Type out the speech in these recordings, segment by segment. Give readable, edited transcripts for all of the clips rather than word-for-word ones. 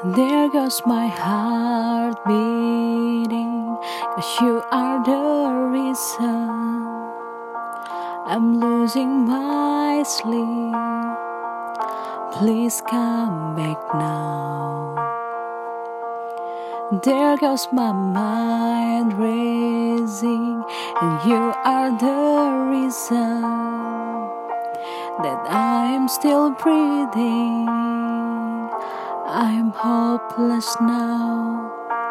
There goes my heart beating, 'cause you are the reason I'm losing my sleep. Please come back now. There goes my mind racing, and you are the reason that I'm still breathing. I'm hopeless now.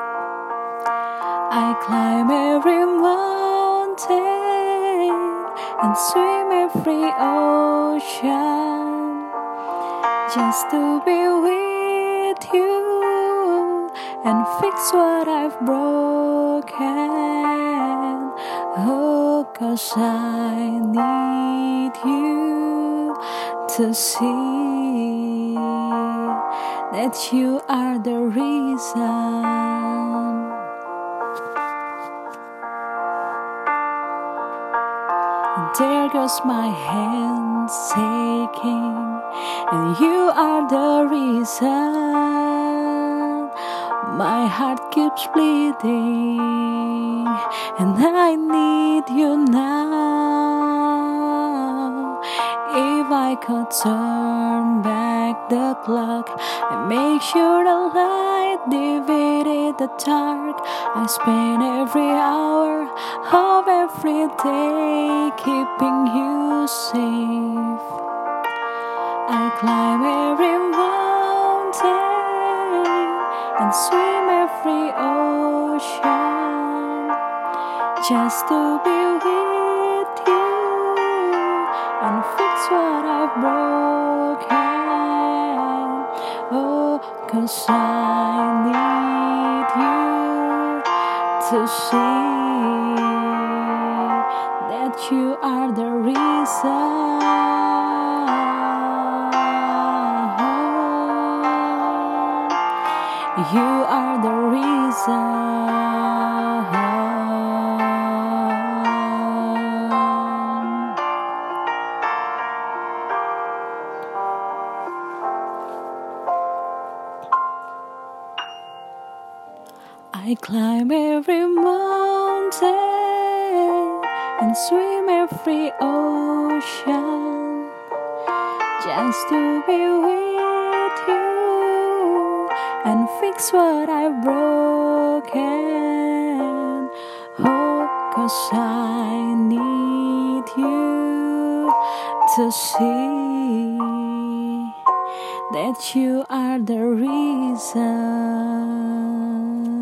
I climb every mountain and swim every ocean just to be with you and fix what I've broken. Oh, 'cause I need you to see that you are the reason. There goes my hands shaking, and you are the reason my heart keeps bleeding, and I need you now. If I could turn back the clock and make sure the light defeated the dark, I spend every hour of every day keeping you safe. I climb every mountain and swim every ocean just to be with you and fix what I've broken. Oh, 'cause I need you to see that you are the reason. You are the reason. I climb every mountain and swim every ocean just to be with you and fix what I've broken. Oh, 'cause I need you to see that you are the reason.